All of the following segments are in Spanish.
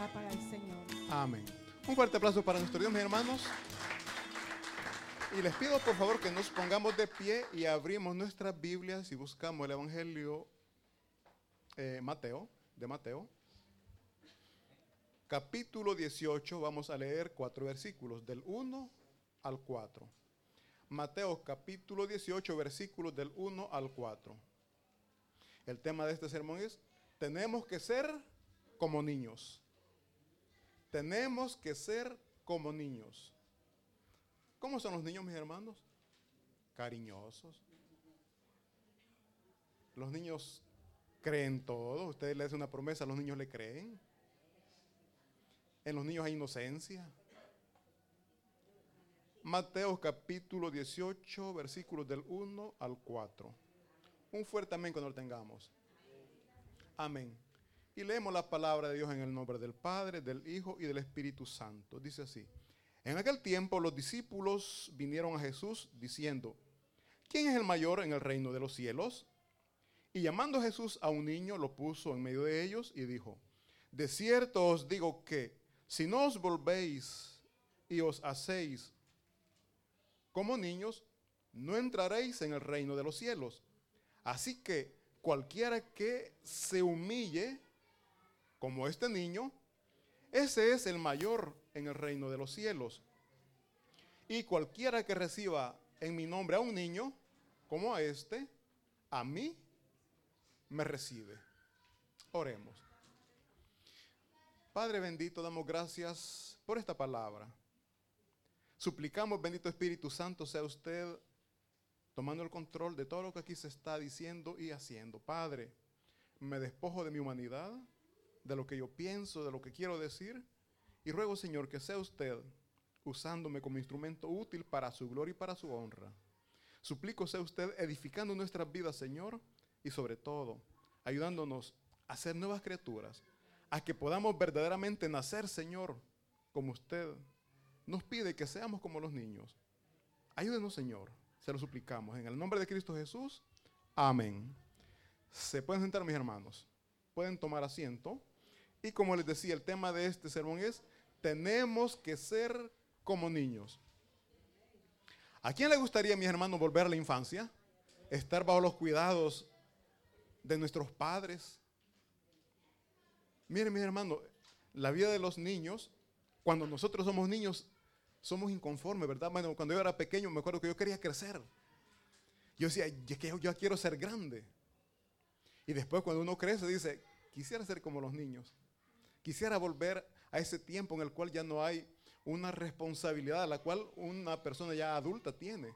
palabra para el Señor. Amén. Un fuerte aplauso para nuestro Dios, mis hermanos. Y les pido por favor que nos pongamos de pie y abrimos nuestras Biblias y buscamos el Evangelio de Mateo. Capítulo 18, vamos a leer 4 versículos, del 1 al 4. Mateo capítulo 18, versículos del 1 al 4. El tema de este sermón es: tenemos que ser como niños. Tenemos que ser como niños. ¿Cómo son los niños, mis hermanos? Cariñosos. Los niños creen todo. Ustedes le hacen una promesa, los niños le creen. En los niños hay inocencia. Mateo capítulo 18, versículos del 1 al 4. Un fuerte amén cuando lo tengamos. Amén. Y leemos la palabra de Dios en el nombre del Padre, del Hijo y del Espíritu Santo. Dice así: en aquel tiempo los discípulos vinieron a Jesús diciendo: ¿quién es el mayor en el reino de los cielos? Y llamando Jesús a un niño, lo puso en medio de ellos y dijo: de cierto os digo que si no os volvéis y os hacéis como niños, no entraréis en el reino de los cielos. Así que cualquiera que se humille como este niño, ese es el mayor en el reino de los cielos. Y cualquiera que reciba en mi nombre a un niño como a este, a mí me recibe. Oremos. Padre bendito, damos gracias por esta palabra. Suplicamos, bendito Espíritu Santo, sea usted tomando el control de todo lo que aquí se está diciendo y haciendo. Padre, me despojo de mi humanidad, de lo que yo pienso, de lo que quiero decir, y ruego, Señor, que sea usted usándome como instrumento útil para su gloria y para su honra. Suplico sea usted edificando nuestras vidas, Señor, y sobre todo, ayudándonos a ser nuevas criaturas, a que podamos verdaderamente nacer, Señor, como usted nos pide que seamos como los niños. Ayúdenos, Señor, se lo suplicamos. En el nombre de Cristo Jesús, amén. Se pueden sentar, mis hermanos. Pueden tomar asiento. Y como les decía, el tema de este sermón es: tenemos que ser como niños. ¿A quién le gustaría, mis hermanos, volver a la infancia? Estar bajo los cuidados de nuestros padres. Miren, mis hermanos, la vida de los niños, cuando nosotros somos niños, somos inconformes, ¿verdad? Bueno, cuando yo era pequeño, me acuerdo que yo quería crecer. Yo decía, yo quiero ser grande. Y después, cuando uno crece, dice, quisiera ser como los niños. Quisiera volver a ese tiempo en el cual ya no hay una responsabilidad a la cual una persona ya adulta tiene.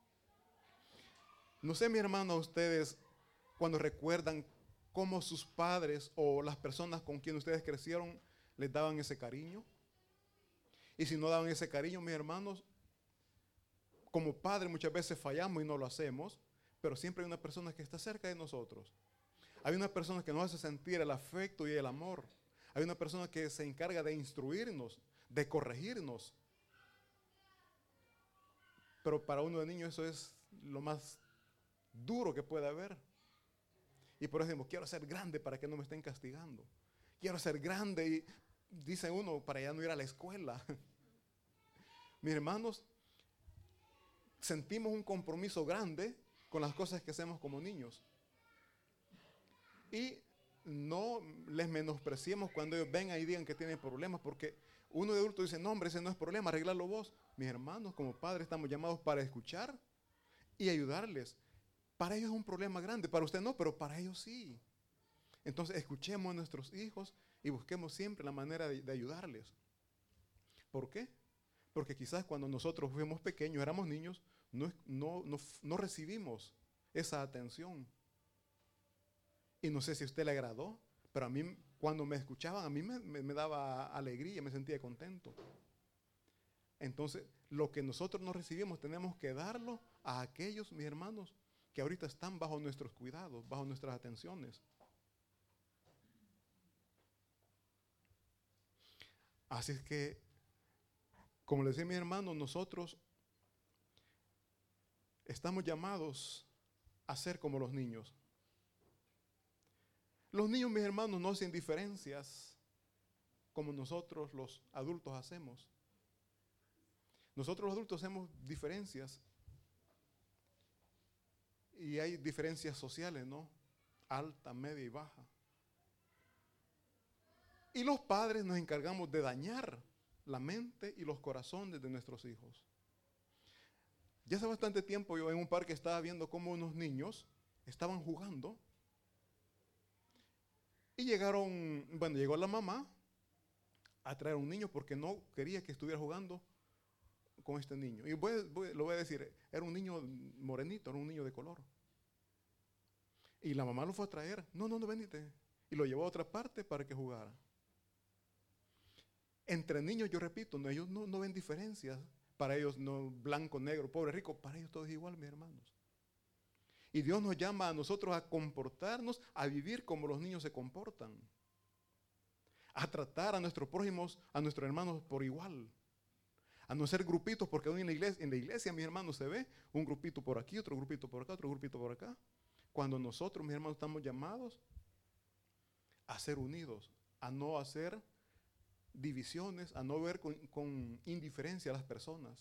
No sé, mi hermano, a ustedes, cuando recuerdan cómo sus padres o las personas con quien ustedes crecieron les daban ese cariño. Y si no daban ese cariño, mis hermanos, como padres muchas veces fallamos y no lo hacemos, pero siempre hay una persona que está cerca de nosotros. Hay una persona que nos hace sentir el afecto y el amor. Hay una persona que se encarga de instruirnos, de corregirnos. Pero para uno de niño eso es lo más duro que puede haber. Y por eso decimos, quiero ser grande para que no me estén castigando. Quiero ser grande y dice uno, para ya no ir a la escuela. Mis hermanos, sentimos un compromiso grande con las cosas que hacemos como niños. Y no les menospreciemos cuando ellos vengan y digan que tienen problemas, porque uno de adulto dice, no hombre, ese no es problema, arreglarlo vos. Mis hermanos, como padres estamos llamados para escuchar y ayudarles. Para ellos es un problema grande, para usted no, pero para ellos sí. Entonces escuchemos a nuestros hijos y busquemos siempre la manera de ayudarles. ¿Por qué? Porque quizás cuando nosotros fuimos pequeños, éramos niños, no recibimos esa atención. Y no sé si a usted le agradó, pero a mí cuando me escuchaban, a mí me daba alegría, me sentía contento. Entonces, lo que nosotros no recibimos tenemos que darlo a aquellos, mis hermanos, que ahorita están bajo nuestros cuidados, bajo nuestras atenciones. Así es que, como les decía mi hermano, nosotros estamos llamados a ser como los niños. Los niños, mis hermanos, no hacen diferencias como nosotros los adultos hacemos. Nosotros los adultos hacemos diferencias. Y hay diferencias sociales, ¿no? Alta, media y baja. Y los padres nos encargamos de dañar la mente y los corazones de nuestros hijos. Ya hace bastante tiempo yo en un parque estaba viendo cómo unos niños estaban jugando. Y llegó la mamá a traer un niño porque no quería que estuviera jugando con este niño. Y lo voy a decir, era un niño morenito, era un niño de color. Y la mamá lo fue a traer. No, venite. Y lo llevó a otra parte para que jugara. Entre niños, yo repito, ellos no ven diferencias. Para ellos no blanco, negro, pobre, rico. Para ellos todo es igual, mis hermanos. Y Dios nos llama a nosotros a comportarnos, a vivir como los niños se comportan. A tratar a nuestros prójimos, a nuestros hermanos por igual. A no ser grupitos, porque hoy en la iglesia, mis hermanos, se ve un grupito por aquí, otro grupito por acá, otro grupito por acá. Cuando nosotros, mis hermanos, estamos llamados a ser unidos, a no hacer divisiones, a no ver con indiferencia a las personas.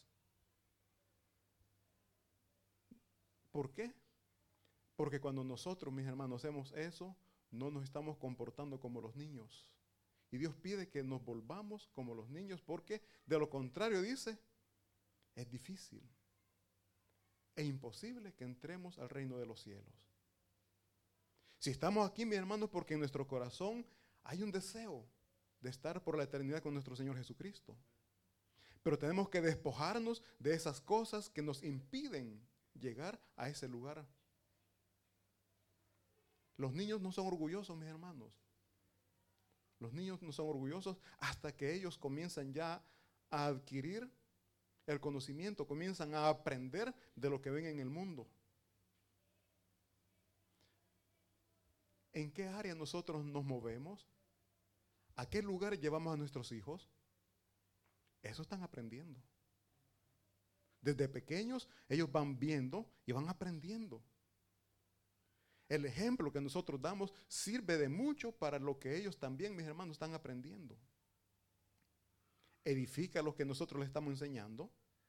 ¿Por qué? Porque cuando nosotros, mis hermanos, hacemos eso, no nos estamos comportando como los niños. Y Dios pide que nos volvamos como los niños, porque de lo contrario, dice, es difícil e imposible que entremos al reino de los cielos. Si estamos aquí, mis hermanos, porque en nuestro corazón hay un deseo de estar por la eternidad con nuestro Señor Jesucristo. Pero tenemos que despojarnos de esas cosas que nos impiden llegar a ese lugar. Los niños no son orgullosos, mis hermanos. Los niños no son orgullosos hasta que ellos comienzan ya a adquirir el conocimiento, comienzan a aprender de lo que ven en el mundo. ¿En qué área nosotros nos movemos? ¿A qué lugar llevamos a nuestros hijos? Eso están aprendiendo. Desde pequeños ellos van viendo y van aprendiendo. El ejemplo que nosotros damos sirve de mucho para lo que ellos también, mis hermanos, están aprendiendo. Edifica lo que nosotros les estamos enseñando.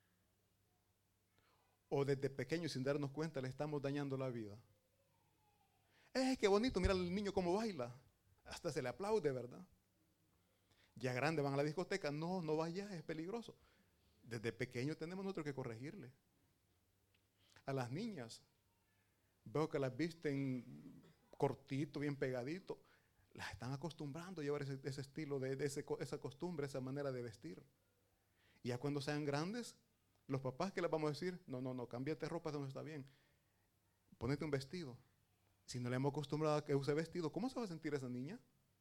O desde pequeños, sin darnos cuenta, le estamos dañando la vida. Qué bonito, mira al niño cómo baila. Hasta se le aplaude, ¿verdad? Ya grande van a la discoteca. No vaya, es peligroso. Desde pequeño tenemos nosotros que corregirle. A las niñas, veo que las visten cortito, bien pegadito. Las están acostumbrando a llevar ese estilo, esa costumbre, esa manera de vestir. Y ya cuando sean grandes, los papás, ¿qué les vamos a decir? No, cámbiate ropa, eso no está bien. Ponete un vestido. Si no le hemos acostumbrado a que use vestido, ¿cómo se va a sentir esa niña?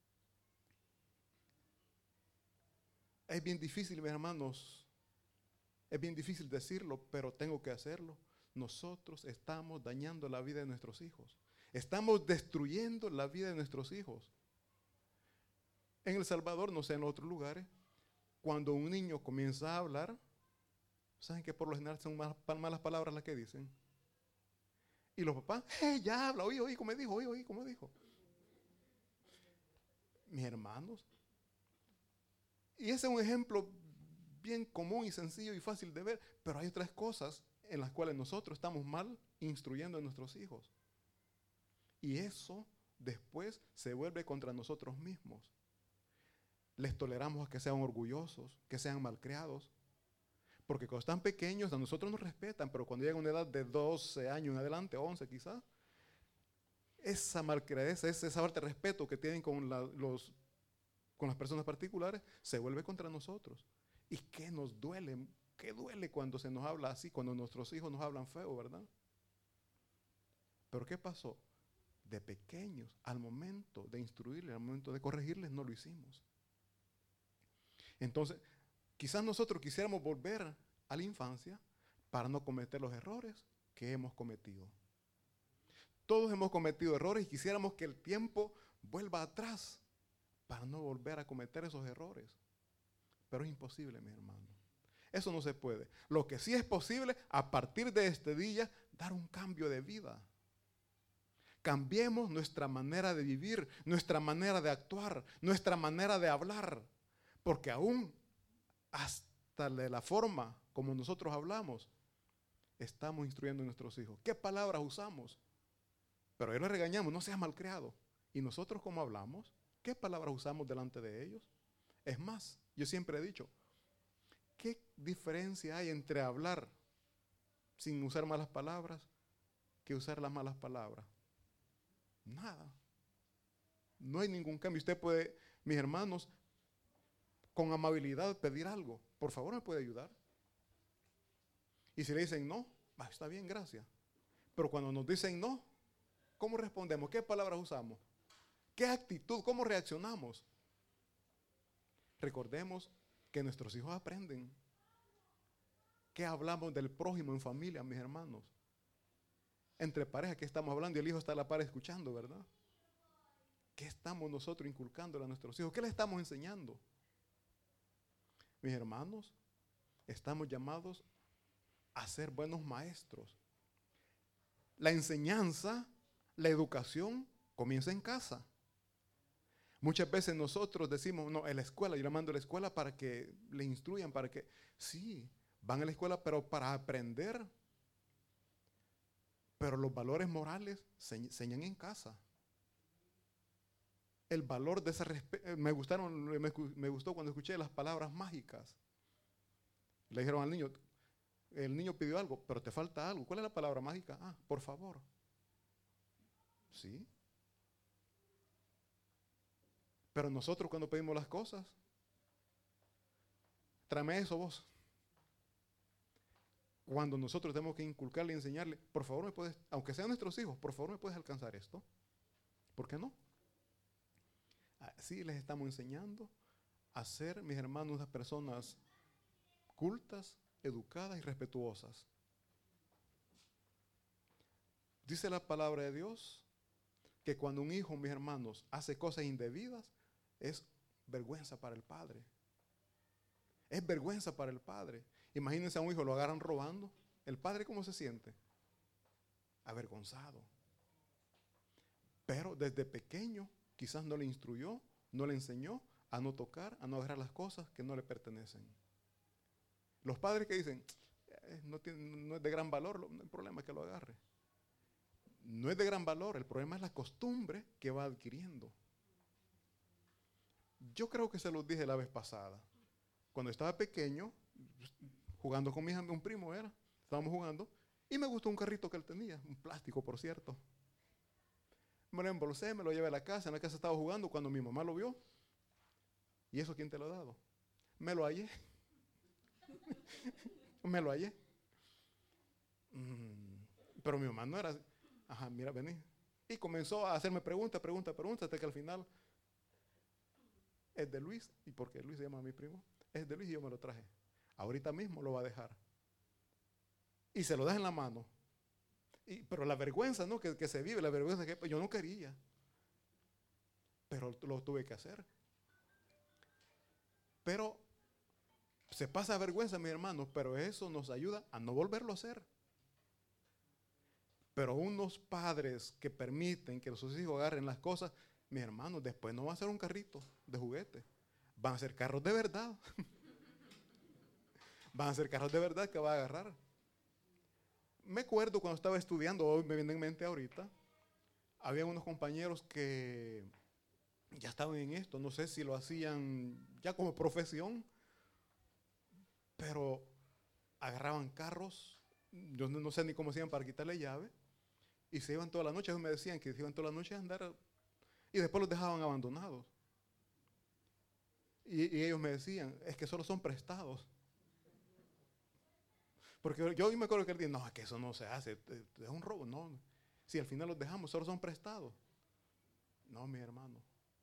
Es bien difícil, mis hermanos. Es bien difícil decirlo, pero tengo que hacerlo. Nosotros estamos dañando la vida de nuestros hijos. Estamos destruyendo la vida de nuestros hijos. En El Salvador, no sé, en otros lugares, cuando un niño comienza a hablar, ¿saben que por lo general son malas palabras las que dicen? Y los papás, ya habla, oí, como dijo, oí, como dijo. Mis hermanos. Y ese es un ejemplo bien común y sencillo y fácil de ver, pero hay otras cosas en las cuales nosotros estamos mal instruyendo a nuestros hijos. Y eso después se vuelve contra nosotros mismos. Les toleramos a que sean orgullosos, que sean malcriados. Porque cuando están pequeños a nosotros nos respetan, pero cuando llegan a una edad de 12 años en adelante, 11 quizás, esa malcriadeza, esa falta de respeto que tienen con las personas particulares, se vuelve contra nosotros. ¿Y qué nos duele? ¿Qué duele cuando se nos habla así, cuando nuestros hijos nos hablan feo, verdad? Pero ¿qué pasó? De pequeños, al momento de instruirles, al momento de corregirles, no lo hicimos. Entonces, quizás nosotros quisiéramos volver a la infancia para no cometer los errores que hemos cometido. Todos hemos cometido errores y quisiéramos que el tiempo vuelva atrás para no volver a cometer esos errores. Pero es imposible, mi hermano. Eso no se puede. Lo que sí es posible, a partir de este día, dar un cambio de vida. Cambiemos nuestra manera de vivir, nuestra manera de actuar, nuestra manera de hablar. Porque aún hasta de la forma como nosotros hablamos, estamos instruyendo a nuestros hijos. ¿Qué palabras usamos? Pero a ellos les regañamos, no seas malcriado. ¿Y nosotros cómo hablamos? ¿Qué palabras usamos delante de ellos? Es más, yo siempre he dicho, ¿qué diferencia hay entre hablar sin usar malas palabras que usar las malas palabras? Nada. No hay ningún cambio. Usted puede, mis hermanos, con amabilidad pedir algo. Por favor, ¿me puede ayudar? Y si le dicen no, está bien, gracias. Pero cuando nos dicen no, ¿cómo respondemos? ¿Qué palabras usamos? ¿Qué actitud? ¿Cómo reaccionamos? Recordemos que nuestros hijos aprenden. ¿Qué hablamos del prójimo en familia, mis hermanos? Entre parejas, ¿qué estamos hablando? Y el hijo está a la par escuchando, ¿verdad? ¿Qué estamos nosotros inculcándole a nuestros hijos? ¿Qué le estamos enseñando? Mis hermanos, estamos llamados a ser buenos maestros. La enseñanza, la educación comienza en casa. Muchas veces nosotros decimos, no, en la escuela, yo le mando a la escuela para que le instruyan, para que, sí, van a la escuela, pero para aprender. Pero los valores morales se enseñan en casa. El valor de ese respeto, me gustó cuando escuché las palabras mágicas. Le dijeron al niño, el niño pidió algo, pero te falta algo. ¿Cuál es la palabra mágica? Ah, por favor. Sí. Pero nosotros cuando pedimos las cosas, tráeme eso vos. Cuando nosotros tenemos que inculcarle y enseñarle, por favor me puedes, aunque sean nuestros hijos, por favor me puedes alcanzar esto. ¿Por qué no? Así les estamos enseñando a ser, mis hermanos, unas personas cultas, educadas y respetuosas. Dice la palabra de Dios que cuando un hijo, mis hermanos, hace cosas indebidas, es vergüenza para el padre. Es vergüenza para el padre. Imagínense a un hijo, lo agarran robando. ¿El padre cómo se siente? Avergonzado. Pero desde pequeño quizás no le instruyó, no le enseñó a no tocar, a no agarrar las cosas que no le pertenecen. Los padres que dicen, no es de gran valor, el problema es que lo agarre. No es de gran valor, el problema es la costumbre que va adquiriendo. Yo creo que se los dije la vez pasada. Cuando estaba pequeño, jugando con un primo estábamos jugando, y me gustó un carrito que él tenía, un plástico por cierto. Me lo embolsé, me lo llevé a la casa, en la casa estaba jugando cuando mi mamá lo vio. ¿Y eso quién te lo ha dado? Me lo hallé. Me lo hallé. Pero mi mamá no era así. Ajá, mira, vení. Y comenzó a hacerme preguntas, hasta que al final es de Luis. ¿Y por qué Luis se llama a mi primo? Es de Luis y yo me lo traje. Ahorita mismo lo va a dejar. Y se lo deja en la mano. Pero la vergüenza, ¿no? Que se vive, la vergüenza que yo no quería. Pero lo tuve que hacer. Pero se pasa vergüenza, mis hermanos, pero eso nos ayuda a no volverlo a hacer. Pero unos padres que permiten que sus hijos agarren las cosas, mis hermanos, después no va a ser un carrito de juguete. Van a ser carros de verdad. Van a ser carros de verdad que va a agarrar. Me acuerdo cuando estaba estudiando, hoy me viene en mente ahorita, había unos compañeros que ya estaban en esto, no sé si lo hacían ya como profesión, pero agarraban carros, yo no sé ni cómo hacían para quitarle llave, y se iban toda la noche. Ellos me decían que se iban toda la noche a andar, y después los dejaban abandonados. Y ellos me decían, es que solo son prestados. Porque yo me acuerdo que él dijo, no, es que eso no se hace, es un robo. No, si al final los dejamos, solo son prestados. No, mi hermano.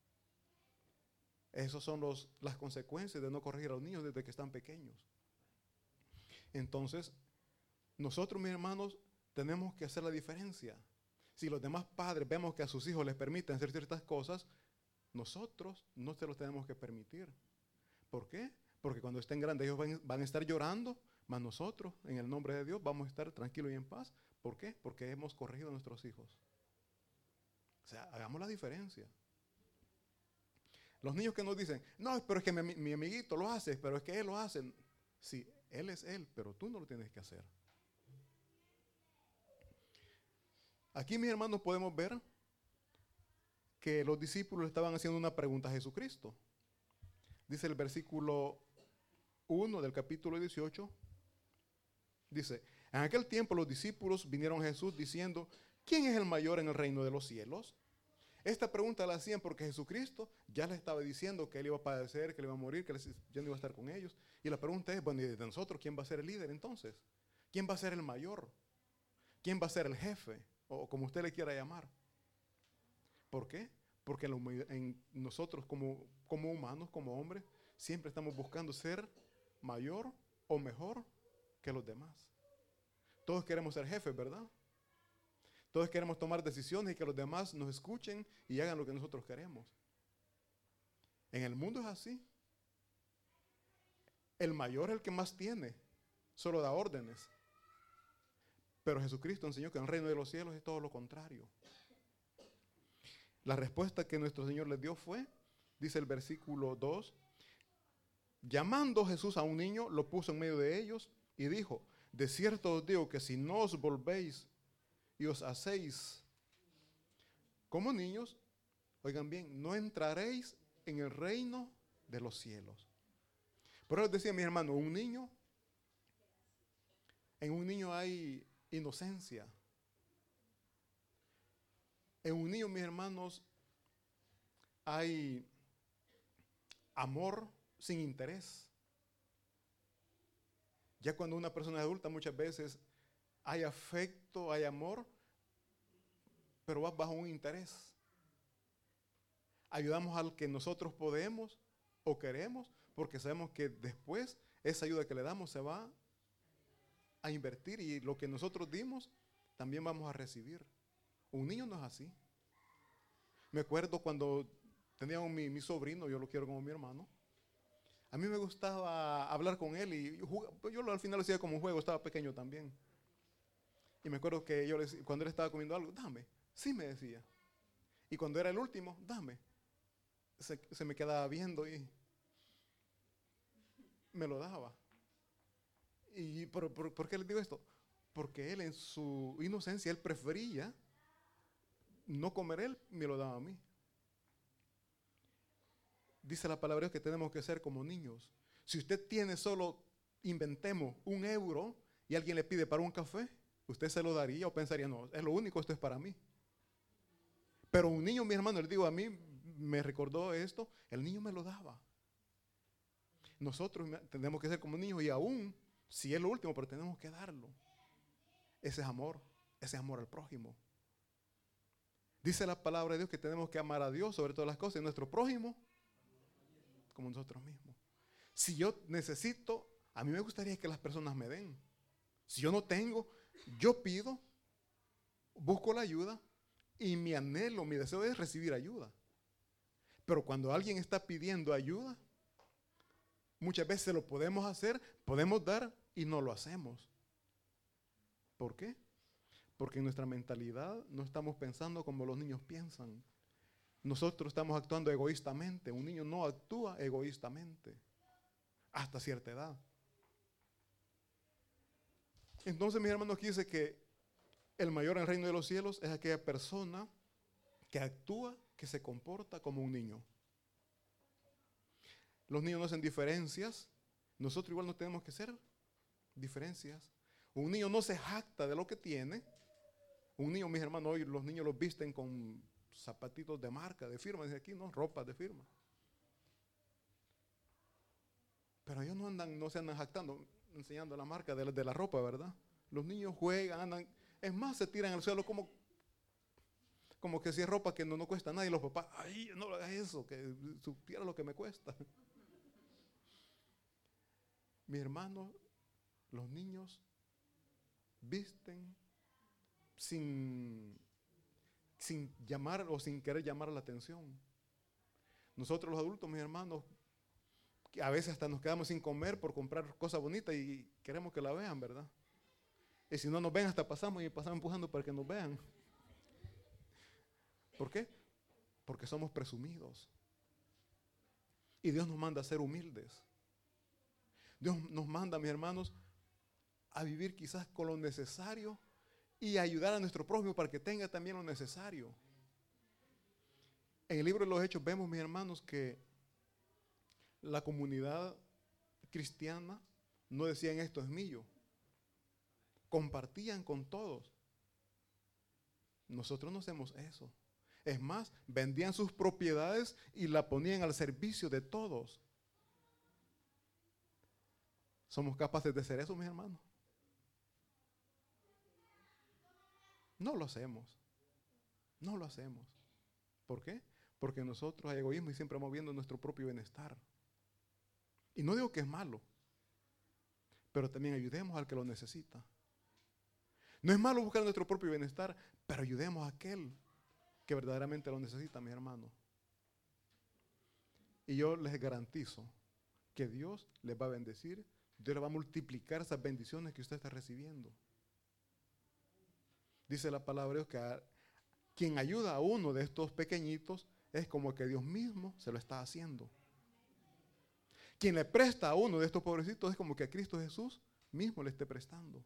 Esas son las consecuencias de no corregir a los niños desde que están pequeños. Entonces, nosotros, mis hermanos, tenemos que hacer la diferencia. Si los demás padres vemos que a sus hijos les permiten hacer ciertas cosas, nosotros no se los tenemos que permitir. ¿Por qué? Porque cuando estén grandes ellos van a estar llorando, mas nosotros, en el nombre de Dios, vamos a estar tranquilos y en paz. ¿Por qué? Porque hemos corregido a nuestros hijos. O sea, hagamos la diferencia. Los niños que nos dicen, no, pero es que mi amiguito lo hace, pero es que él lo hace. Sí, él es él, pero tú no lo tienes que hacer. Aquí, mis hermanos, podemos ver que los discípulos estaban haciendo una pregunta a Jesucristo. Dice el versículo 1 del capítulo 18. Dice, en aquel tiempo los discípulos vinieron a Jesús diciendo, ¿quién es el mayor en el reino de los cielos? Esta pregunta la hacían porque Jesucristo ya les estaba diciendo que él iba a padecer, que él iba a morir, que ya no iba a estar con ellos. Y la pregunta es, bueno, ¿y de nosotros quién va a ser el líder entonces? ¿Quién va a ser el mayor? ¿Quién va a ser el jefe? O como usted le quiera llamar. ¿Por qué? Porque nosotros como humanos, como hombres, siempre estamos buscando ser mayor o mejor que los demás. Todos queremos ser jefes, ¿verdad? Todos queremos tomar decisiones y que los demás nos escuchen y hagan lo que nosotros queremos. En el mundo es así. El mayor es el que más tiene, solo da órdenes. Pero Jesucristo enseñó que en el reino de los cielos es todo lo contrario. La respuesta que nuestro Señor les dio fue, dice el versículo 2, llamando Jesús a un niño, lo puso en medio de ellos y dijo, de cierto os digo que si no os volvéis y os hacéis como niños, oigan bien, no entraréis en el reino de los cielos. Por eso decía mi hermano, en un niño hay inocencia. En un niño, mis hermanos, hay amor sin interés. Ya cuando una persona es adulta, muchas veces hay afecto, hay amor, pero va bajo un interés. Ayudamos al que nosotros podemos o queremos, porque sabemos que después esa ayuda que le damos se va a invertir y lo que nosotros dimos también vamos a recibir. Un niño no es así. Me acuerdo cuando tenía mi sobrino, yo lo quiero como mi hermano. A mí me gustaba hablar con él y yo al final lo hacía como un juego, estaba pequeño también. Y me acuerdo que cuando él estaba comiendo algo, dame, sí me decía. Y cuando era el último, dame. Se me quedaba viendo y me lo daba. ¿Y por qué les digo esto? Porque él en su inocencia, él prefería no comer él, me lo daba a mí. Dice la palabra de Dios que tenemos que ser como niños. Si usted tiene solo, inventemos, €1 y alguien le pide para un café, ¿usted se lo daría o pensaría, no, es lo único, esto es para mí? Pero un niño, mi hermano, le digo, a mí me recordó esto, el niño me lo daba. Nosotros tenemos que ser como niños y aún, si es lo último, pero tenemos que darlo. Ese es amor al prójimo. Dice la palabra de Dios que tenemos que amar a Dios sobre todas las cosas y nuestro prójimo como nosotros mismos. Si yo necesito, a mí me gustaría que las personas me den. Si yo no tengo, yo pido, busco la ayuda y mi anhelo, mi deseo es recibir ayuda. Pero cuando alguien está pidiendo ayuda, muchas veces lo podemos hacer, podemos dar y no lo hacemos. ¿Por qué? Porque en nuestra mentalidad no estamos pensando como los niños piensan. Nosotros estamos actuando egoístamente. Un niño no actúa egoístamente hasta cierta edad. Entonces, mis hermanos, aquí dice que el mayor en el reino de los cielos es aquella persona que actúa, que se comporta como un niño. Los niños no hacen diferencias. Nosotros igual no tenemos que hacer diferencias. Un niño no se jacta de lo que tiene. Un niño, mis hermanos, hoy los niños los visten con zapatitos de marca, de firma, dice aquí, no, ropa de firma. Pero ellos no se andan jactando, enseñando la marca de la ropa, ¿verdad? Los niños juegan, andan, es más, se tiran al suelo como que si es ropa que no cuesta nada y los papás, ay, no hagas eso, que supiera lo que me cuesta. Mi hermano, los niños visten sin llamar o sin querer llamar la atención. Nosotros los adultos, mis hermanos, a veces hasta nos quedamos sin comer por comprar cosas bonitas y queremos que la vean, ¿verdad? Y si no nos ven, hasta pasamos empujando para que nos vean. ¿Por qué? Porque somos presumidos. Y Dios nos manda a ser humildes. Dios nos manda, mis hermanos, a vivir quizás con lo necesario y a ayudar a nuestro prójimo para que tenga también lo necesario. En el libro de los Hechos vemos, mis hermanos, que la comunidad cristiana no decían esto es mío. Compartían con todos. Nosotros no hacemos eso. Es más, vendían sus propiedades y la ponían al servicio de todos. ¿Somos capaces de hacer eso, mis hermanos? No lo hacemos. No lo hacemos. ¿Por qué? Porque nosotros hay egoísmo y siempre vamos viendo nuestro propio bienestar. Y no digo que es malo, pero también ayudemos al que lo necesita. No es malo buscar nuestro propio bienestar, pero ayudemos a aquel que verdaderamente lo necesita, mis hermanos. Y yo les garantizo que Dios les va a bendecir, Dios les va a multiplicar esas bendiciones que usted está recibiendo. Dice la palabra de Dios que quien ayuda a uno de estos pequeñitos es como que Dios mismo se lo está haciendo. Quien le presta a uno de estos pobrecitos es como que a Cristo Jesús mismo le esté prestando.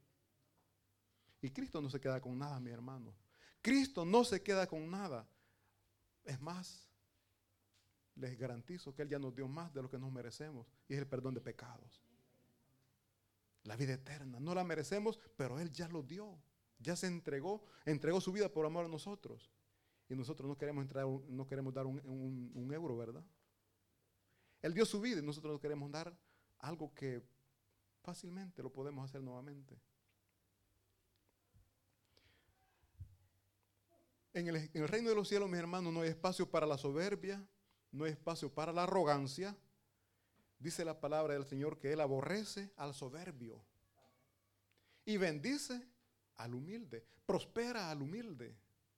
Y Cristo no se queda con nada, mi hermano. Cristo no se queda con nada. Es más, les garantizo que Él ya nos dio más de lo que nos merecemos. Y es el perdón de pecados. La vida eterna. No la merecemos, pero Él ya lo dio. Ya se entregó su vida por amor a nosotros. Y nosotros no queremos dar un euro, ¿verdad? Él dio su vida y nosotros no queremos dar algo que fácilmente lo podemos hacer nuevamente. En el reino de los cielos, mis hermanos, no hay espacio para la soberbia, no hay espacio para la arrogancia. Dice la palabra del Señor que Él aborrece al soberbio y bendice al humilde, prospera al humilde.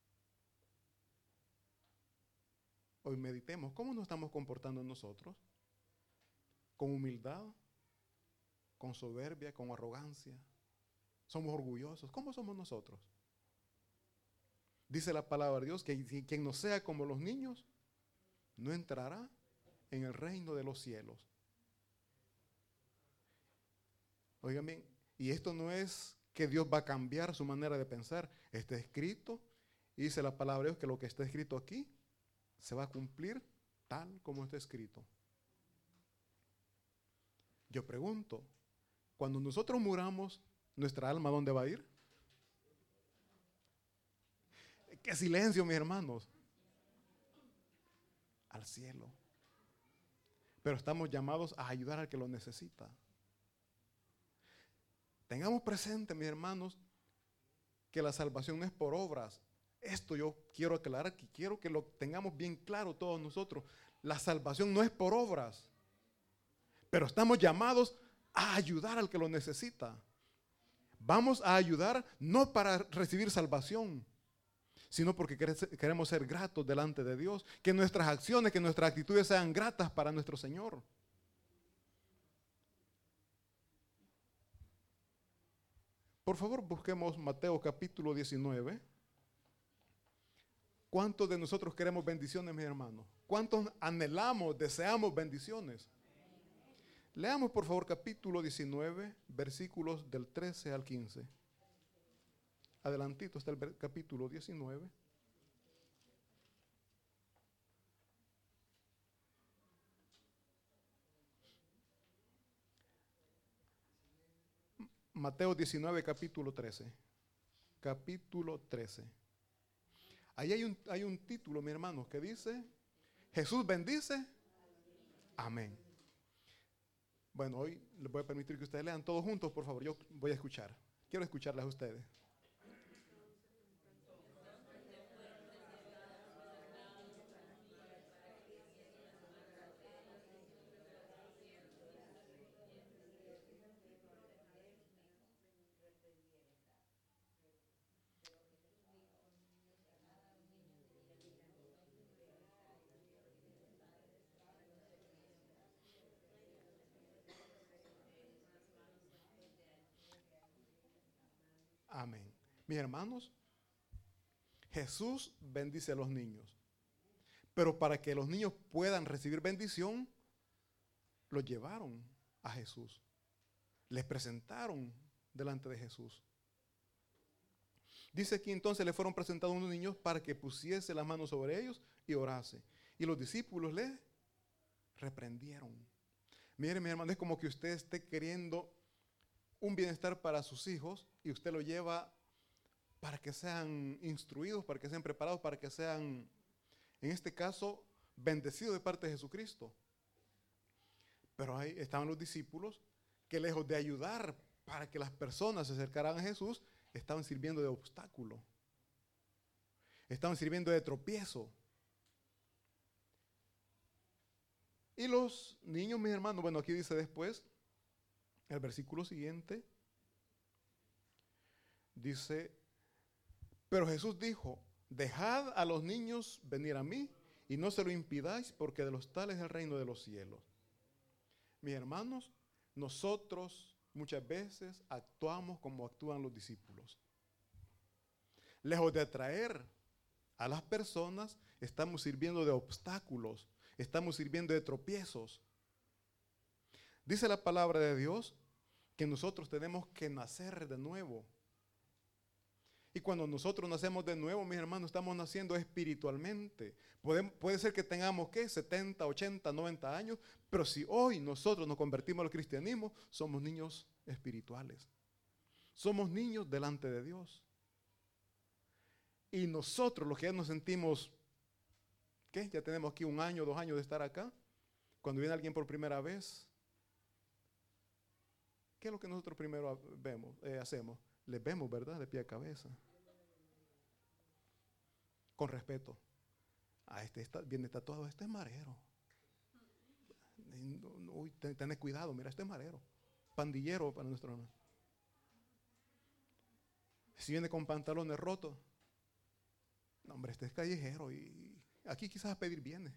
Hoy meditemos, ¿cómo nos estamos comportando nosotros? ¿Con humildad? ¿Con soberbia? ¿Con arrogancia? ¿Somos orgullosos? ¿Cómo somos nosotros? Dice la palabra de Dios que quien no sea como los niños no entrará en el reino de los cielos. Oigan bien, y esto no es que Dios va a cambiar su manera de pensar. Está escrito, y dice la palabra de Dios que lo que está escrito aquí se va a cumplir tal como está escrito. Yo pregunto, cuando nosotros muramos, ¿nuestra alma dónde va a ir? ¡Qué silencio, mis hermanos! Al cielo. Pero estamos llamados a ayudar al que lo necesita. Tengamos presente, mis hermanos, que la salvación no es por obras. Esto yo quiero aclarar, que quiero que lo tengamos bien claro todos nosotros. La salvación no es por obras, pero estamos llamados a ayudar al que lo necesita. Vamos a ayudar no para recibir salvación, sino porque queremos ser gratos delante de Dios, que nuestras acciones, que nuestras actitudes sean gratas para nuestro Señor. Por favor, busquemos Mateo capítulo 19. ¿Cuántos de nosotros queremos bendiciones, mis hermanos? ¿Cuántos anhelamos, deseamos bendiciones? Leamos, por favor, capítulo 19, versículos del 13 al 15. Adelantito está el capítulo 19. Mateo 19, capítulo 13. Capítulo 13. Ahí hay un título, mi hermano, que dice, Jesús bendice. Amén. Bueno, hoy les voy a permitir que ustedes lean todos juntos, por favor. Yo voy a escuchar. Quiero escucharlas a ustedes. Amén. Mis hermanos, Jesús bendice a los niños. Pero para que los niños puedan recibir bendición, los llevaron a Jesús. Les presentaron delante de Jesús. Dice aquí entonces le fueron presentados unos niños para que pusiese las manos sobre ellos y orase. Y los discípulos le reprendieron. Mire, mi hermano, es como que usted esté queriendo un bienestar para sus hijos y usted lo lleva para que sean instruidos, para que sean preparados, para que sean, en este caso, bendecidos de parte de Jesucristo. Pero ahí estaban los discípulos que lejos de ayudar para que las personas se acercaran a Jesús, estaban sirviendo de obstáculo. Estaban sirviendo de tropiezo. Y los niños, mis hermanos, bueno, aquí dice después, el versículo siguiente, dice, pero Jesús dijo, dejad a los niños venir a mí y no se lo impidáis porque de los tales es el reino de los cielos. Mis hermanos, nosotros muchas veces actuamos como actúan los discípulos. Lejos de atraer a las personas, estamos sirviendo de obstáculos, estamos sirviendo de tropiezos. Dice la palabra de Dios que nosotros tenemos que nacer de nuevo. Y cuando nosotros nacemos de nuevo, mis hermanos, estamos naciendo espiritualmente. Puede ser que tengamos, ¿qué? 70, 80, 90 años, pero si hoy nosotros nos convertimos al cristianismo, somos niños espirituales. Somos niños delante de Dios. Y nosotros, los que ya nos sentimos, ¿qué? Ya tenemos aquí 1 año, 2 años de estar acá. Cuando viene alguien por primera vez, ¿qué es lo que nosotros primero hacemos? Les vemos, ¿verdad? De pie a cabeza. Con respeto. Viene tatuado, este es marero. Uy, tenés cuidado, mira, este es marero. Pandillero para nuestro hermano. Si viene con pantalones rotos, no, hombre, este es callejero y aquí quizás a pedir bienes.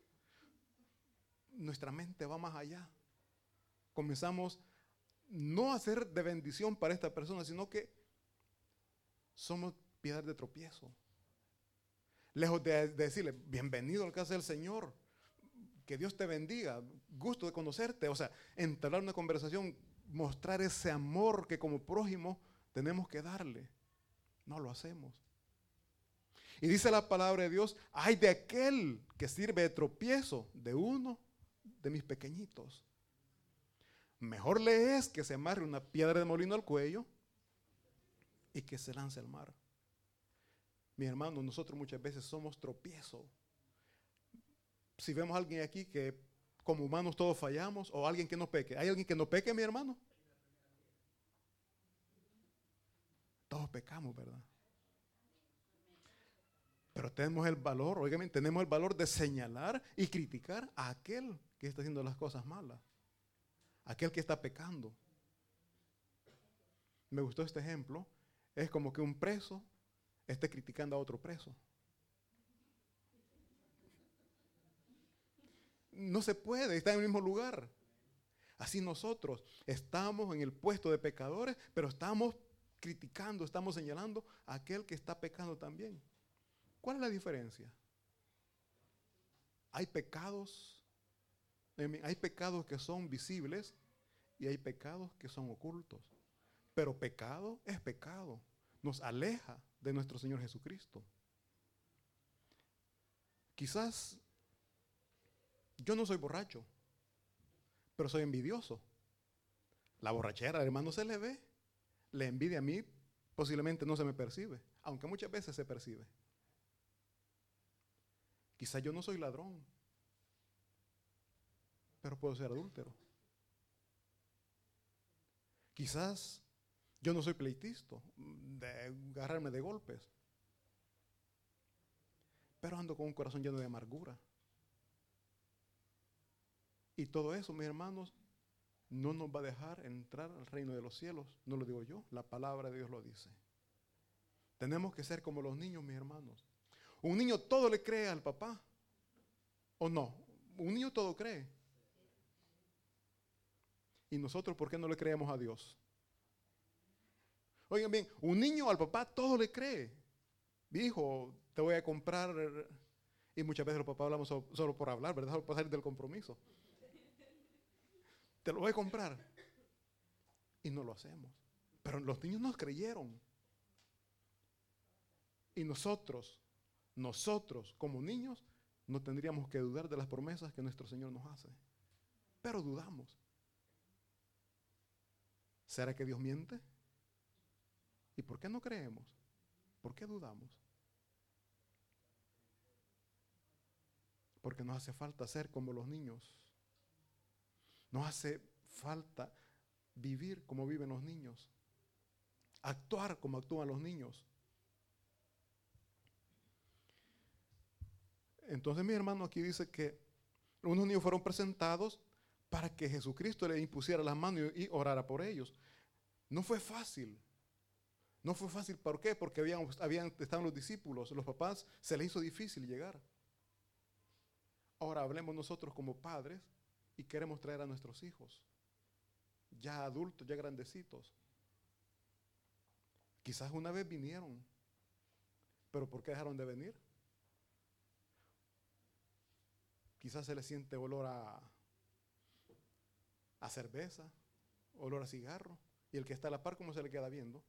Nuestra mente va más allá. Comenzamos no a ser de bendición para esta persona, sino que somos piedras de tropiezo. Lejos de decirle, bienvenido al casa del Señor, que Dios te bendiga, gusto de conocerte. O sea, entablar una conversación, mostrar ese amor que como prójimo tenemos que darle. No lo hacemos. Y dice la palabra de Dios, ay de aquel que sirve de tropiezo de uno de mis pequeñitos. Mejor le es que se amarre una piedra de molino al cuello y que se lance al mar. Mi hermano, nosotros muchas veces somos tropiezo. Si vemos a alguien aquí que como humanos todos fallamos, o alguien que no peque. ¿Hay alguien que no peque, mi hermano? Todos pecamos, ¿verdad? Pero tenemos el valor, oigan, tenemos el valor de señalar y criticar a aquel que está haciendo las cosas malas. Aquel que está pecando. Me gustó este ejemplo. Es como que un preso esté criticando a otro preso. No se puede, está en el mismo lugar. Así nosotros estamos en el puesto de pecadores, pero estamos criticando, estamos señalando a aquel que está pecando también. ¿Cuál es la diferencia? Hay pecados que son visibles y hay pecados que son ocultos. Pero pecado es pecado. Nos aleja de nuestro Señor Jesucristo. Quizás yo no soy borracho, pero soy envidioso. La borrachera, hermano, se le ve. La envidia a mí posiblemente no se me percibe, aunque muchas veces se percibe. Quizás yo no soy ladrón, pero puedo ser adúltero. Quizás yo no soy pleitista, de agarrarme de golpes, pero ando con un corazón lleno de amargura. Y todo eso, mis hermanos, no nos va a dejar entrar al reino de los cielos. No lo digo yo, la palabra de Dios lo dice. Tenemos que ser como los niños, mis hermanos. Un niño todo le cree al papá, ¿o no? Un niño todo cree. ¿Y nosotros por qué no le creemos a Dios? Oigan bien, un niño al papá todo le cree. Hijo, te voy a comprar Y muchas veces los papás hablamos solo por hablar, ¿verdad? Solo por salir del compromiso. Te lo voy a comprar. Y no lo hacemos. Pero los niños nos creyeron. Y nosotros como niños, no tendríamos que dudar de las promesas que nuestro Señor nos hace. Pero dudamos. ¿Será que Dios miente? ¿Y por qué no creemos? ¿Por qué dudamos? Porque nos hace falta ser como los niños. Nos hace falta vivir como viven los niños. Actuar como actúan los niños. Entonces, mi hermano, aquí dice que unos niños fueron presentados para que Jesucristo les impusiera las manos y orara por ellos. No fue fácil. No fue fácil, ¿por qué? Porque estaban los discípulos, los papás, se les hizo difícil llegar. Ahora hablemos nosotros como padres y queremos traer a nuestros hijos, ya adultos, ya grandecitos. Quizás una vez vinieron, pero ¿por qué dejaron de venir? Quizás se les siente olor a cerveza, olor a cigarro, y el que está a la par, ¿cómo se le queda viendo?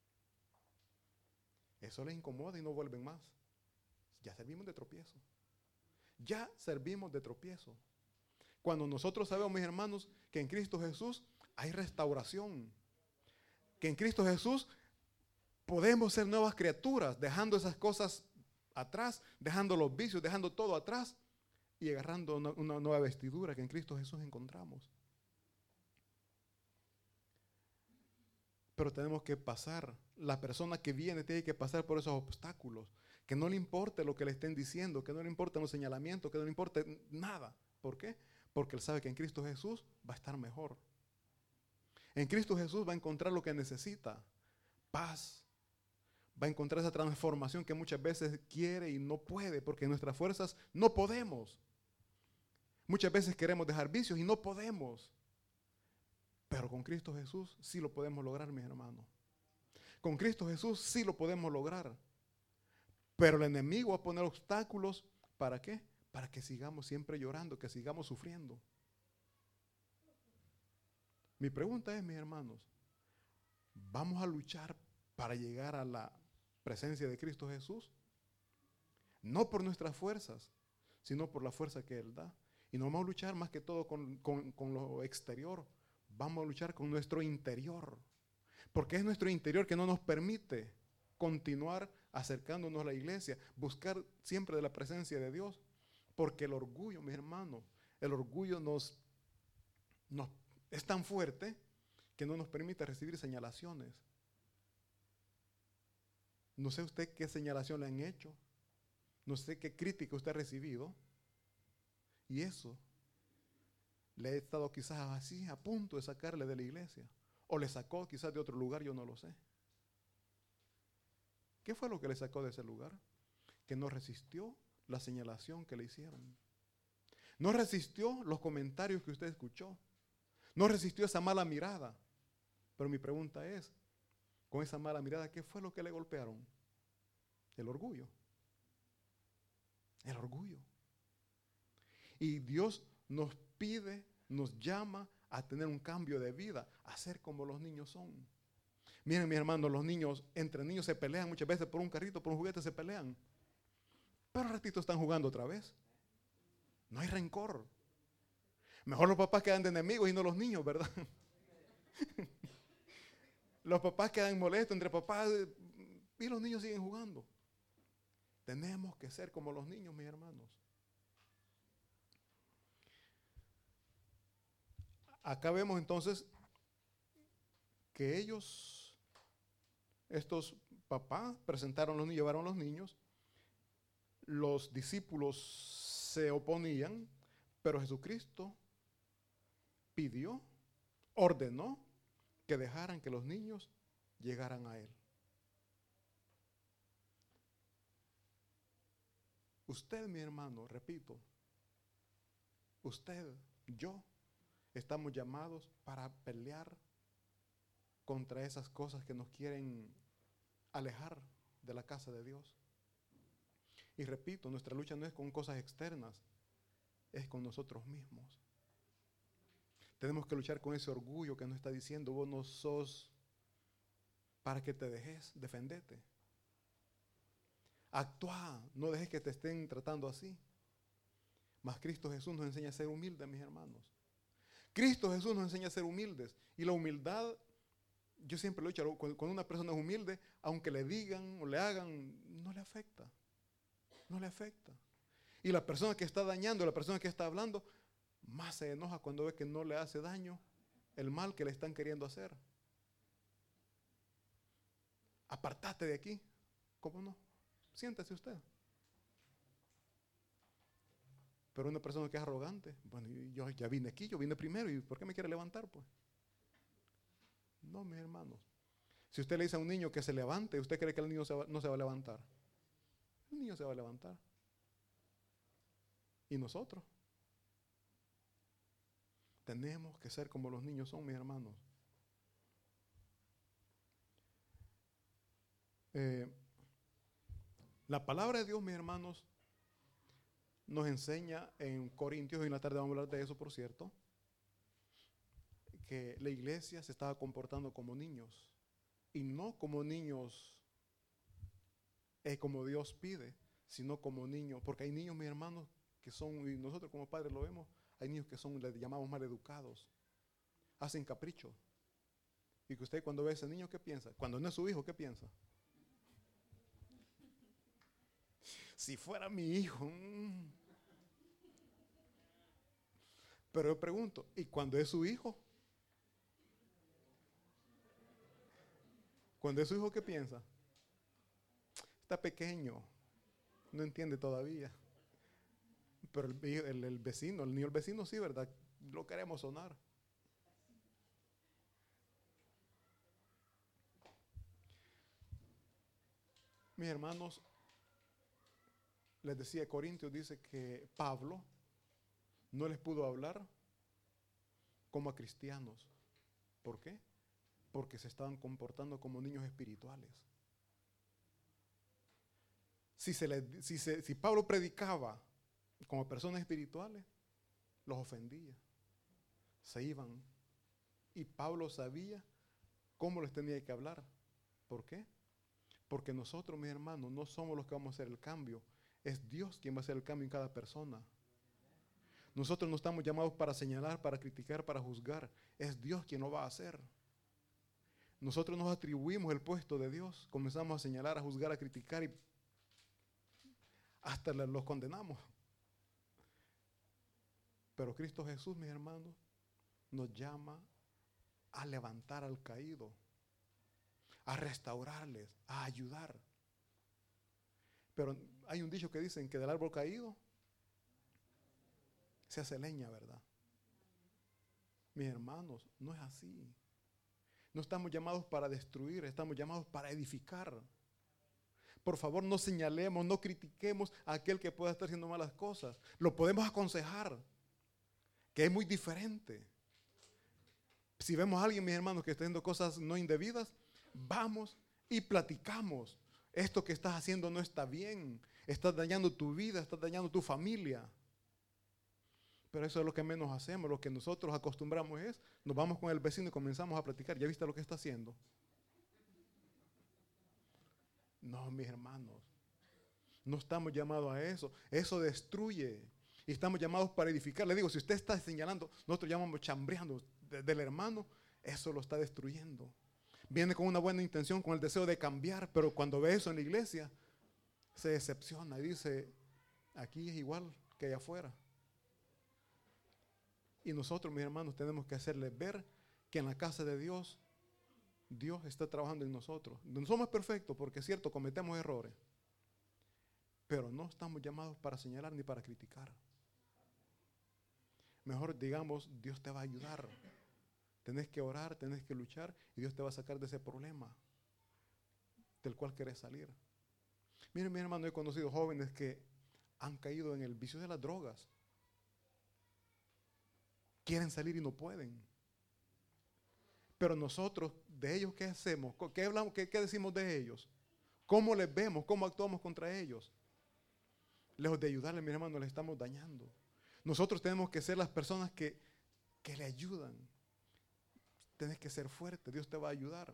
Eso les incomoda y no vuelven más. Ya servimos de tropiezo. Ya servimos de tropiezo. Cuando nosotros sabemos, mis hermanos, que en Cristo Jesús hay restauración, que en Cristo Jesús podemos ser nuevas criaturas, dejando esas cosas atrás, dejando los vicios, dejando todo atrás y agarrando una nueva vestidura que en Cristo Jesús encontramos. Pero tenemos que pasar, la persona que viene tiene que pasar por esos obstáculos, que no le importe lo que le estén diciendo, que no le importen los señalamientos, que no le importe nada. ¿Por qué? Porque él sabe que en Cristo Jesús va a estar mejor. En Cristo Jesús va a encontrar lo que necesita, paz. Va a encontrar esa transformación que muchas veces quiere y no puede, porque en nuestras fuerzas no podemos. Muchas veces queremos dejar vicios y no podemos. Pero con Cristo Jesús sí lo podemos lograr, mis hermanos. Con Cristo Jesús sí lo podemos lograr. Pero el enemigo va a poner obstáculos, ¿para qué? Para que sigamos siempre llorando, que sigamos sufriendo. Mi pregunta es, mis hermanos, ¿vamos a luchar para llegar a la presencia de Cristo Jesús? No por nuestras fuerzas, sino por la fuerza que Él da. Y no vamos a luchar más que todo con lo exterior. Vamos a luchar con nuestro interior. Porque es nuestro interior que no nos permite continuar acercándonos a la iglesia, buscar siempre de la presencia de Dios. Porque el orgullo, mis hermanos, el orgullo es tan fuerte que no nos permite recibir señalaciones. No sé usted qué señalación le han hecho, no sé qué crítica usted ha recibido, y eso le he estado quizás así a punto de sacarle de la iglesia, o le sacó quizás de otro lugar, yo no lo sé. ¿Qué fue lo que le sacó de ese lugar? Que no resistió la señalación que le hicieron. No resistió los comentarios que usted escuchó. No resistió esa mala mirada. Pero mi pregunta es, con esa mala mirada, ¿qué fue lo que le golpearon? El orgullo. El orgullo. Y Dios nos pide, nos llama a tener un cambio de vida, a ser como los niños son. Miren, mis hermanos, los niños, entre niños se pelean muchas veces por un carrito, por un juguete se pelean. Pero al ratito están jugando otra vez. No hay rencor. Mejor los papás quedan de enemigos y no los niños, ¿verdad? Los papás quedan molestos entre papás y los niños siguen jugando. Tenemos que ser como los niños, mis hermanos. Acá vemos entonces que estos papás presentaron los niños, llevaron los niños. Los discípulos se oponían, pero Jesucristo pidió, ordenó que dejaran que los niños llegaran a Él. Usted, mi hermano, repito, usted, yo, estamos llamados para pelear contra esas cosas que nos quieren alejar de la casa de Dios. Y repito, nuestra lucha no es con cosas externas, es con nosotros mismos. Tenemos que luchar con ese orgullo que nos está diciendo, vos no sos para que te dejes, defendete. Actúa, no dejes que te estén tratando así. Mas Cristo Jesús nos enseña a ser humildes, mis hermanos. Cristo Jesús nos enseña a ser humildes. Y la humildad, yo siempre lo he dicho, cuando una persona es humilde, aunque le digan o le hagan, no le afecta. No le afecta. Y la persona que está dañando, la persona que está hablando, más se enoja cuando ve que no le hace daño el mal que le están queriendo hacer. Apartate de aquí. ¿Cómo no? Siéntese usted. Pero una persona que es arrogante, bueno, yo ya vine aquí, yo vine primero, ¿y por qué me quiere levantar, pues? No, mis hermanos. Si usted le dice a un niño que se levante, ¿usted cree que el niño no se va a levantar? El niño se va a levantar. ¿Y nosotros? Tenemos que ser como los niños son, mis hermanos. La palabra de Dios, mis hermanos, nos enseña en Corintios, y en la tarde vamos a hablar de eso, por cierto, que la iglesia se estaba comportando como niños, y no como niños como Dios pide, sino como niños, porque hay niños, mis hermanos, que son, y nosotros como padres lo vemos, hay niños que son, les llamamos mal educados, hacen capricho, y que usted cuando ve a ese niño, ¿qué piensa? Cuando no es su hijo, ¿qué piensa? Si fuera mi hijo. Pero yo pregunto, ¿y cuando es su hijo? Cuando es su hijo, ¿qué piensa? Está pequeño, no entiende todavía. Pero el vecino, el niño del vecino sí, ¿verdad? Lo queremos sonar. Mis hermanos, les decía, Corintios dice que Pablo no les pudo hablar como a cristianos. ¿Por qué? Porque se estaban comportando como niños espirituales. Si Pablo predicaba como personas espirituales, los ofendía. Se iban. Y Pablo sabía cómo les tenía que hablar. ¿Por qué? Porque nosotros, mis hermanos, no somos los que vamos a hacer el cambio. Es Dios quien va a hacer el cambio en cada persona. Nosotros no estamos llamados para señalar, para criticar, para juzgar. Es Dios quien lo va a hacer. Nosotros nos atribuimos el puesto de Dios. Comenzamos a señalar, a juzgar, a criticar y hasta los condenamos. Pero Cristo Jesús, mis hermanos, nos llama a levantar al caído, a restaurarles, a ayudar. Pero hay un dicho que dicen que del árbol caído se hace leña, ¿verdad? Mis hermanos, no es así. No estamos llamados para destruir, estamos llamados para edificar. Por favor, no señalemos, no critiquemos a aquel que pueda estar haciendo malas cosas. Lo podemos aconsejar, que es muy diferente. Si vemos a alguien, mis hermanos, que está haciendo cosas no indebidas, vamos y platicamos. Esto que estás haciendo no está bien. Estás dañando tu vida, estás dañando tu familia. Pero eso es lo que menos hacemos. Lo que nosotros acostumbramos es, nos vamos con el vecino y comenzamos a platicar. ¿Ya viste lo que está haciendo? No, mis hermanos. No estamos llamados a eso. Eso destruye. Y estamos llamados para edificar. Le digo, si usted está señalando, nosotros llamamos chambreando del hermano, eso lo está destruyendo. Viene con una buena intención, con el deseo de cambiar, pero cuando ve eso en la iglesia, se decepciona y dice, aquí es igual que allá afuera. Y nosotros, mis hermanos, tenemos que hacerles ver que en la casa de Dios, Dios está trabajando en nosotros. No somos perfectos, porque es cierto, cometemos errores. Pero no estamos llamados para señalar ni para criticar. Mejor digamos, Dios te va a ayudar. Tenés que orar, tenés que luchar y Dios te va a sacar de ese problema del cual querés salir. Miren, mi hermano, he conocido jóvenes que han caído en el vicio de las drogas. Quieren salir y no pueden. Pero nosotros, de ellos, ¿qué hacemos? ¿Qué hablamos? ¿Qué decimos de ellos? ¿Cómo les vemos? ¿Cómo actuamos contra ellos? Lejos de ayudarle, mi hermano, le estamos dañando. Nosotros tenemos que ser las personas que le ayudan. Tienes que ser fuerte, Dios te va a ayudar.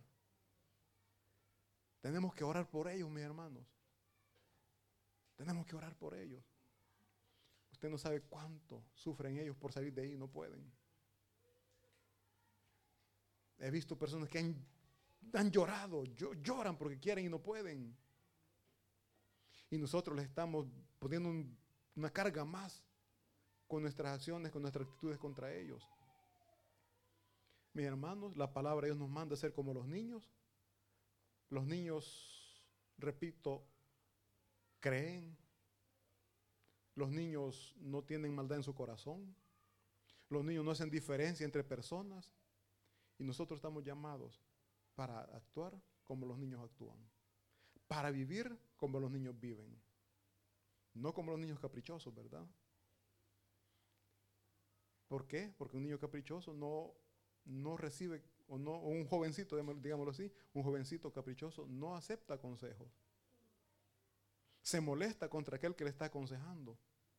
Tenemos que orar por ellos, mis hermanos. Tenemos que orar por ellos. Usted no sabe cuánto sufren ellos por salir de ahí y no pueden. He visto personas que han llorado, lloran porque quieren y no pueden. Y nosotros les estamos poniendo una carga más con nuestras acciones, con nuestras actitudes contra ellos. Mis hermanos, la palabra de Dios nos manda a ser como los niños. Los niños, repito, creen. Los niños no tienen maldad en su corazón. Los niños no hacen diferencia entre personas. Y nosotros estamos llamados para actuar como los niños actúan. Para vivir como los niños viven. No como los niños caprichosos, ¿verdad? ¿Por qué? Porque un niño caprichoso no recibe, o un jovencito, digámoslo así, un jovencito caprichoso no acepta consejos. Se molesta contra aquel que le está aconsejando.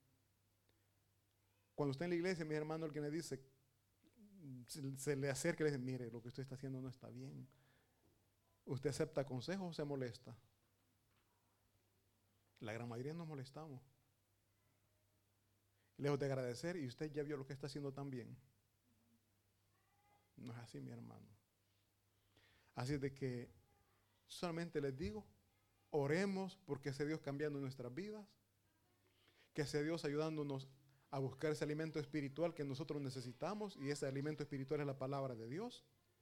Cuando está en la iglesia, mi hermano, alguien le dice, se le acerca y le dice, mire, lo que usted está haciendo no está bien. ¿Usted acepta consejos o se molesta? La gran mayoría nos molestamos. Lejos de agradecer, y usted ya vio lo que está haciendo también. No es así, mi hermano. Así es de que solamente les digo, oremos porque sea Dios cambiando nuestras vidas, que sea Dios ayudándonos a buscar ese alimento espiritual que nosotros necesitamos, y ese alimento espiritual es la palabra de Dios.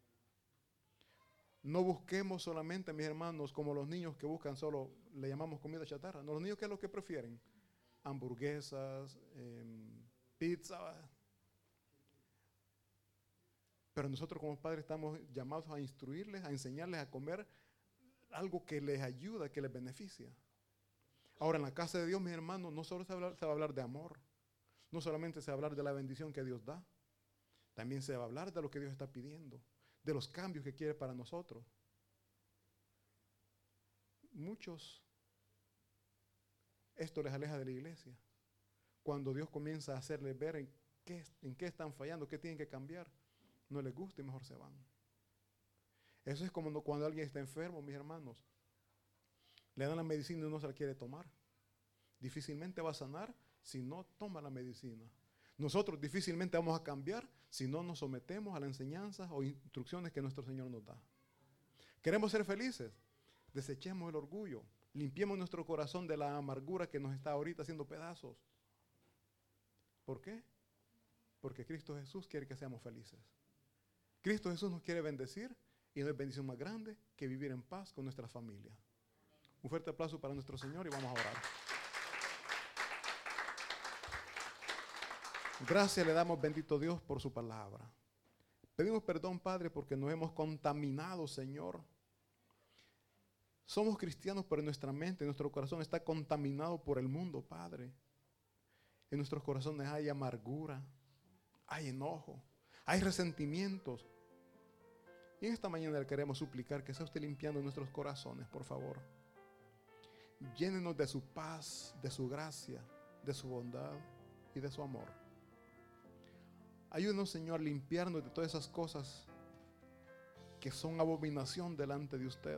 No busquemos solamente, mis hermanos, como los niños que buscan solo, le llamamos comida chatarra. No, los niños, ¿qué es lo que prefieren? Hamburguesas, pizza. Pero nosotros como padres estamos llamados a instruirles, a enseñarles a comer algo que les ayuda, que les beneficia. Ahora, en la casa de Dios, mis hermanos, no solo se va a hablar de amor. No solamente se va a hablar de la bendición que Dios da. También se va a hablar de lo que Dios está pidiendo, de los cambios que quiere para nosotros. Muchos, esto les aleja de la iglesia. Cuando Dios comienza a hacerles ver en qué están fallando, qué tienen que cambiar, no les gusta y mejor se van. Eso es como cuando alguien está enfermo, mis hermanos. Le dan la medicina y no se la quiere tomar. Difícilmente va a sanar si no toma la medicina. Nosotros difícilmente vamos a cambiar si no nos sometemos a las enseñanzas o instrucciones que nuestro Señor nos da. ¿Queremos ser felices? Desechemos el orgullo. Limpiemos nuestro corazón de la amargura que nos está ahorita haciendo pedazos. ¿Por qué? Porque Cristo Jesús quiere que seamos felices. Cristo Jesús nos quiere bendecir y no hay bendición más grande que vivir en paz con nuestra familia. Un fuerte aplauso para nuestro Señor y vamos a orar. Gracias le damos, bendito Dios, por su palabra. Pedimos perdón, Padre, porque nos hemos contaminado, Señor. Somos cristianos, pero en nuestra mente, nuestro corazón está contaminado por el mundo, Padre. En nuestros corazones hay amargura, hay enojo, hay resentimientos. Y en esta mañana le queremos suplicar que sea usted limpiando nuestros corazones, por favor. Llénenos de su paz, de su gracia, de su bondad y de su amor. Ayúdenos, Señor, a limpiarnos de todas esas cosas que son abominación delante de usted.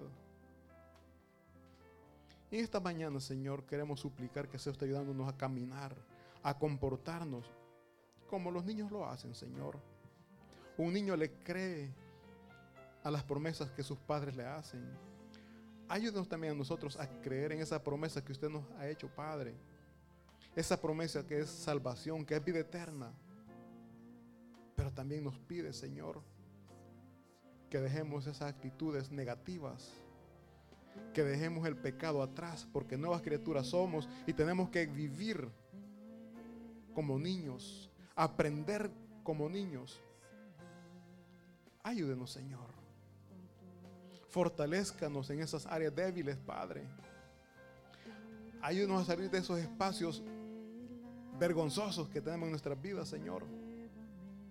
Y esta mañana, Señor, queremos suplicar que sea usted ayudándonos a caminar, a comportarnos como los niños lo hacen, Señor. Un niño le cree a las promesas que sus padres le hacen. Ayúdenos también a nosotros a creer en esa promesa que usted nos ha hecho, Padre. Esa promesa que es salvación, que es vida eterna. Pero también nos pide, Señor, que dejemos esas actitudes negativas, que dejemos el pecado atrás, porque nuevas criaturas somos y tenemos que vivir como niños, aprender como niños. Ayúdenos, Señor. Fortalézcanos en esas áreas débiles, Padre. Ayúdenos a salir de esos espacios vergonzosos que tenemos en nuestras vidas, Señor.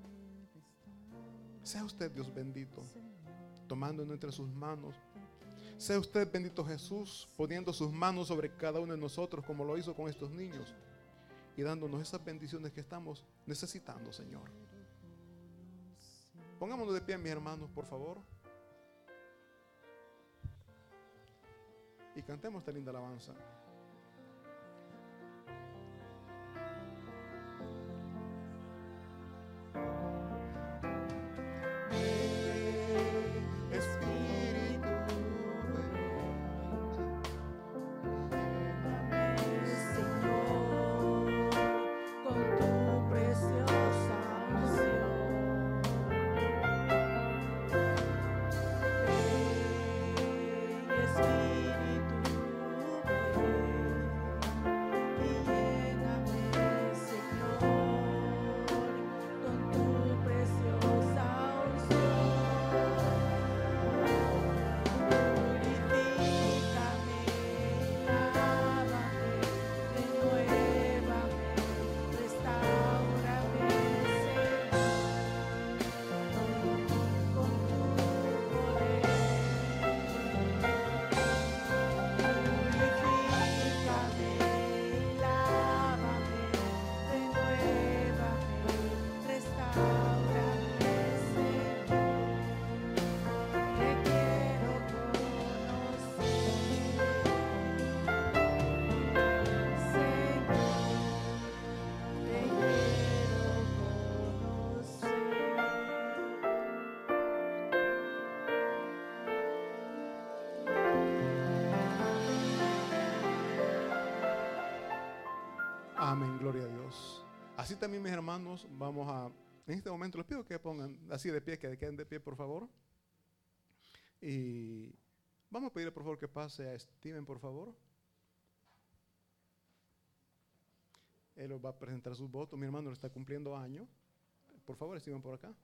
Sea usted, Dios bendito, tomándonos entre sus manos. Sea usted, bendito Jesús, poniendo sus manos sobre cada uno de nosotros como lo hizo con estos niños y dándonos esas bendiciones que estamos necesitando, Señor. Pongámonos de pie, mis hermanos, por favor. Y cantemos esta linda alabanza. Amén, gloria a Dios. Así también, mis hermanos, vamos a, en este momento les pido que pongan así de pie, que queden de pie, por favor. Y vamos a pedirle, por favor, que pase a Steven, por favor. Él os va a presentar sus votos. Mi hermano le está cumpliendo año. Por favor, Steven, por acá.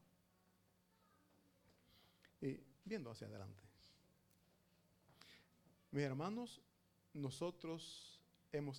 Y viendo hacia adelante. Mis hermanos, nosotros hemos